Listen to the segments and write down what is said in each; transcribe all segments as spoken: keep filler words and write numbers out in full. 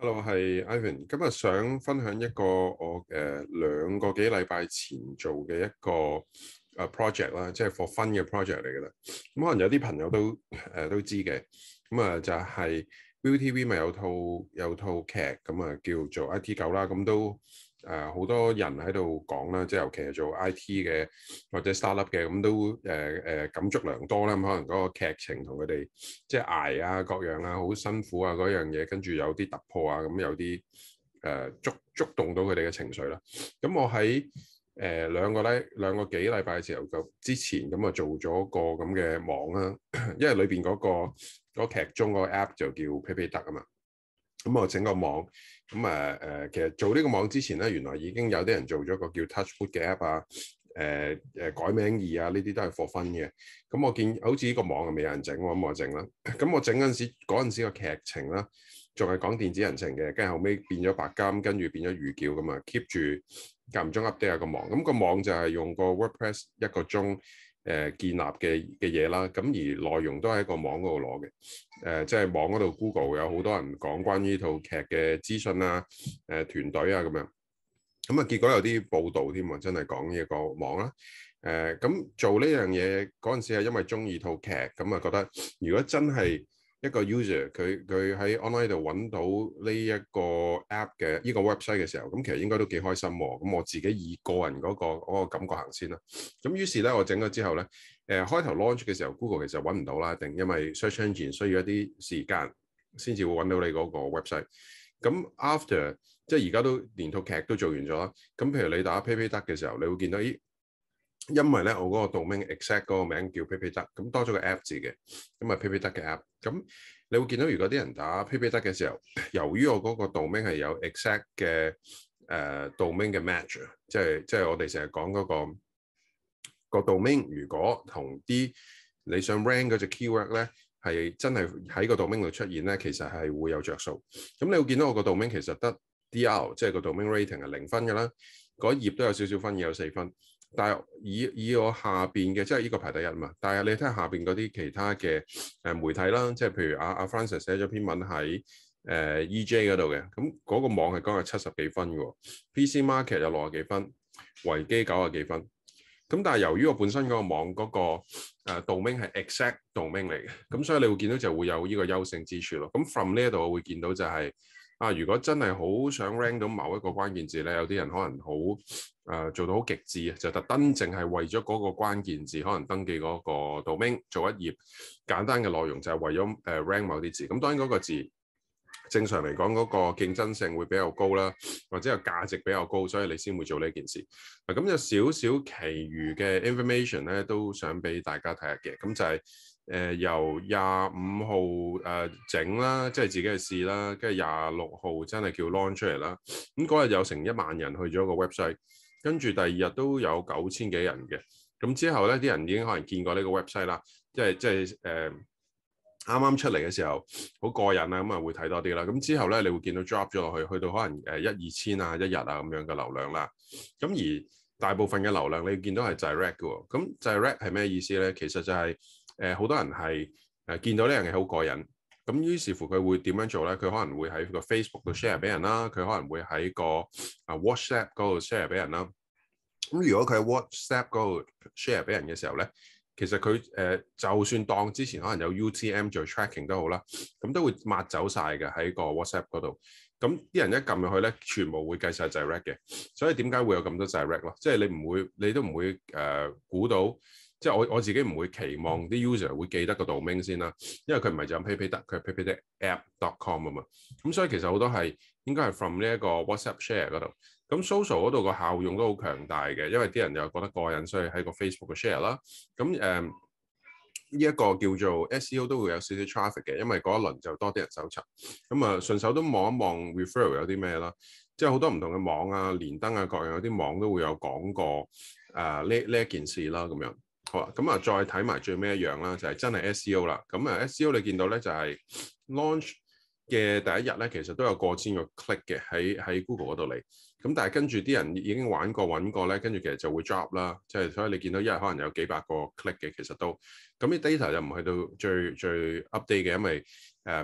Hello，係 Ivan。今日想分享一個我誒、呃、兩個幾禮拜前做嘅一個誒、呃、project 啦，即係 for fun 嘅 project 嚟嘅啦。咁、嗯、可能有啲朋友都誒、呃、都知嘅。咁、嗯、啊就係、是、ViuTV 咪有套有套劇咁啊叫做 I T 九啦。咁、嗯、都誒好、呃、多人喺度講啦，即係尤其係做 I T 嘅或者 startup 嘅，咁、嗯、都誒誒、呃、感觸良多啦。咁、嗯、可能嗰個劇情同佢哋即係捱啊各樣啊，好辛苦啊嗰樣嘢，跟住有啲突破啊，咁、嗯、有啲誒、呃、觸觸動到佢哋嘅情緒啦。咁、嗯、我喺誒、呃、兩個禮兩個幾禮拜嘅時候就之前咁啊、嗯、做咗個咁嘅網啦，因為裏邊嗰、嗰個嗰劇中個 app 就叫 PayPayDuck 啊嘛。咁我整個網，咁啊誒，其實做呢個網之前咧，原來已經有啲人做咗個叫 TouchWood 嘅 app 啊，誒、呃、誒改名易啊，呢啲都係 for fun 嘅。咁我見好似呢個網係未有人整喎，咁我整啦。咁我整嗰陣時，嗰陣時個劇情啦，仲係講電子人情嘅，跟住後尾變咗白金，跟住變咗魚叫咁啊，keep 住間唔中 update 下個網。咁個網就係用個 WordPress 一個鐘。誒、呃、建立嘅嘅嘢啦，咁而內容都喺個網嗰度攞嘅，誒、呃、即係網嗰度 Google 有好多人講關於呢套劇嘅資訊啊，誒、呃、團隊啊咁樣，咁啊結果有啲報導添喎，真係講呢一個網啦，誒、呃、咁做呢樣嘢嗰陣時係因為中意套劇，咁啊覺得如果真係一個 user 佢佢喺 online 度揾到呢一個 app 嘅呢個 website 嘅時候，咁其實應該都幾開心喎。咁我自己以個人嗰個嗰個感覺行先啦。咁於是咧，我整咗之後咧，誒開頭 launch 嘅時候，Google 其實揾唔到啦，定因為 search engine 需要一啲時間先至會揾到你嗰個 website。咁 after 即係而家都連套劇都做完咗啦。咁譬如你打 PayPayDuck 嘅時候，你會見到咦？因為咧，我嗰個 domain exact 嗰個名叫 PayPayDuck，咁多咗個 app 字嘅，咁啊 PayPayDuck 嘅 app，咁你會見到如果啲人打 PayPayDuck 嘅時候，由於我嗰個 domain 係有 exact 嘅誒、呃、domain 嘅 match，即係即係我哋成日講嗰個、個 domain，如果同啲你想 rank 嗰隻 keyword 咧係真係喺個 domain 度出現咧，其實係會有着數。咁你會見到我個 domain 其實得 D R， 即係個 domain rating 係零分㗎啦，嗰頁都有少少分，有四分。但係以以我下邊嘅，即係呢個排第一嘛。但係你睇下下邊嗰啲其他嘅誒媒體啦，即係譬如阿阿 Francis 寫咗篇文喺誒、呃、E J 嗰度嘅，咁嗰個網係講係七十幾分嘅，P C Market 有六十幾分，維基九十幾分。咁但係由於我本身嗰個網嗰、嗰個誒 domain 係 exact domain 嚟嘅，咁所以你會見到就會有呢個優勝之處咯。咁 from 呢一度我會見到就係、是。啊！如果真係好想 rank 到某一個關鍵字咧，有啲人可能好誒、呃、做到好極致啊，就特登淨係為咗嗰個關鍵字，可能登記嗰個 domain 做一頁簡單嘅內容，就係為咗誒、呃、rank 某啲字。咁當然嗰個字正常嚟講嗰個競爭性會比較高啦，或者個價值比較高，所以你先會做呢件事。嗱，咁有少少其餘嘅 information 咧，都想俾大家睇下嘅。咁就係、是。誒、呃、由廿五號誒整啦，即係自己去試啦，跟住廿六號真係叫 launch 出嚟啦。咁嗰日有成一萬人去咗個 website，跟住第二日都有九千幾人嘅。咁之後咧，啲人已經可能見過呢個 website 啦，即係即係誒啱啱出嚟嘅時候好過癮啊，咁啊會睇多啲啦。咁之後咧，你會見到 drop 咗落去，去到可能誒一二千啊一日啊咁樣嘅流量啦。咁而大部分嘅流量你見到係 direct 嘅喎。咁 direct 係咩意思咧？其實就係、是誒好、呃、多人係誒、呃、見到呢樣嘢好過癮，咁於是乎佢會點樣做咧？佢可能會喺個 Facebook 度 share 俾人啦，佢可能會喺個啊 WhatsApp 嗰度 share 俾人啦。咁如果佢喺 WhatsApp 嗰度 share 俾人嘅時候咧，其實佢誒、呃、就算當之前可能有 U T M 做 tracking 都好啦，咁都會抹走晒嘅喺個 WhatsApp 嗰度。咁啲人一撳入去咧，全部會計晒 direct 嘅。所以點解會有咁多 direct 咯？即係你唔會，你都唔會誒估到。即係我我自己唔會期望啲 user 會記得個 domain 先啦，因為佢唔係就咁 PayPayDuck，佢係 PayPayDuckApp dot com 啊嘛。咁所以其實好多係應該係 from 呢一個 WhatsApp share 嗰度。咁 social 嗰度個效用都好強大嘅，因為啲人又覺得過癮，所以喺個 Facebook 嘅 share 啦。咁誒呢一個叫做 S E O 都會有少少 traffic 嘅，因為嗰一輪就多啲人搜尋。咁啊順手都望一望 referral 有啲咩啦，即係好多唔同嘅網啊、連登啊各樣有啲網都會有講過誒呢呢一件事啦咁樣。好啦，咁啊再睇埋最尾一樣啦，就係、是、真係 S E O 啦。咁啊 S E O 你見到咧就係、是、launch 嘅第一日咧，其實都有過千個 click 嘅喺喺 Google 嗰度嚟。咁但係跟住啲人已經玩過揾過咧，跟住其實就會 drop 啦。即、就、係、是、所以你見到一日可能有幾百個 click 嘅，其實都咁啲 data 就唔去到最最 update 嘅，因為誒、嗯、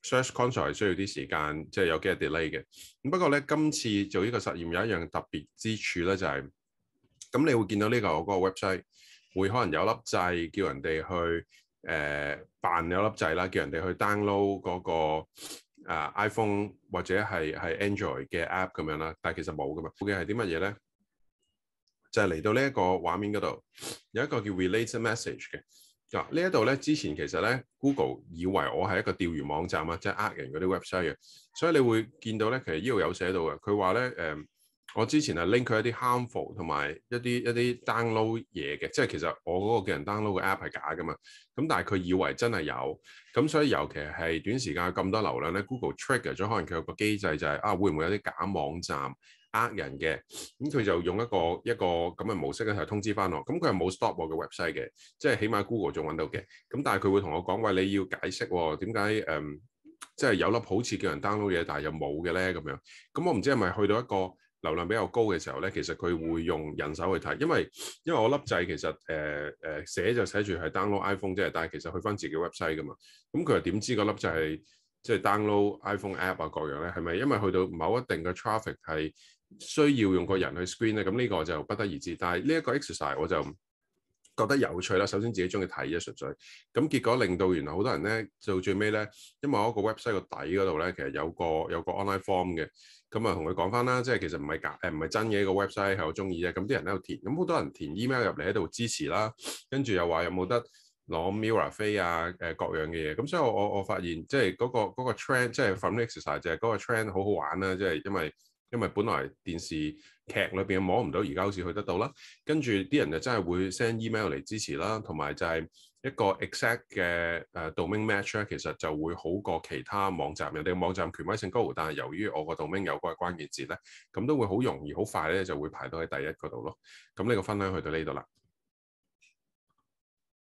Search Console 係需要啲時間，即係有幾日 delay 嘅。咁不過咧，今次做呢個實驗有一樣特別之處咧，就係、是、咁你會見到呢個嗰個 website 會可能有粒掣叫人哋去誒、呃、扮有粒掣啦，叫人哋去 download 嗰、那個、呃、iPhone 或者係係 Android 嘅 app 咁樣啦。但係其實冇噶嘛。嘅係啲乜嘢咧？就係、是、嚟到呢一個畫面嗰度有一個叫 Relate Message 嘅。嗱，呢一度咧，之前其實咧 Google 以為我係一個釣魚網站啊，即係呃人嗰啲 website 嘅，所以你會見到咧，其實呢度有寫到嘅，佢話咧誒，我之前係 link 佢一啲 harmful 同埋一啲一啲 download 嘢嘅，即係其實我嗰個叫人 download 嘅 app 係假噶嘛，咁但係佢以為真係有，咁所以尤其係短時間咁多流量咧 ，Google trigger 咗，可能佢有個機制就係、是、啊，會唔會有啲假網站？呃人嘅，咁佢就用一個一個咁嘅模式咧，係通知翻我。咁佢係冇 stop 我嘅 website 嘅，即係起碼 Google 仲揾到嘅。咁但係佢會同我講話，你要解釋喎，點解誒，即係有粒好似叫人 download 嘢，但係又冇嘅咧咁樣。咁我唔知係咪去到一個流量比較高嘅時候咧，其實佢會用人手去睇，因為因為我粒掣其實誒誒、呃、寫就寫住係 download iPhone 啫，但係其實去翻自己 website 噶嘛。咁佢又點知個粒掣係即係 download iPhone app 啊各樣咧？係咪因為去到某一定嘅 traffic 係需要用個人去 screen 咧，咁呢個就不得而知。但係呢一個 exercise 我就覺得有趣啦。首先自己中意睇啫，純粹咁結果令到原來好多人咧到最尾咧，因為我個 website 個底嗰度咧，其實有個有個 online form 嘅，咁啊同佢講翻啦，即係其實唔係假誒唔係真嘅一個 website 係我中意啫。咁啲人喺度填，咁好多人填 email 入嚟喺度支持啦，跟住又話有冇得攞 Mirror 飛啊誒各樣嘅嘢。咁所以我我我發現即係嗰個嗰個 trend 即係 from exercise 就係嗰個 trend 好好玩啦，即係因為。因為本來電視劇裏邊摸唔到，而家好似去得到啦。跟住啲人就真係會 send email 嚟支持啦，同埋就係一個 exact 嘅誒 domain match 咧，其實就會好過其他網站。人哋嘅網站權威性高，但係由於我個 domain 有嗰個關鍵字咧，咁都會好容易、好快咧就會排到喺第一嗰度咯。咁呢個分享去到呢度啦。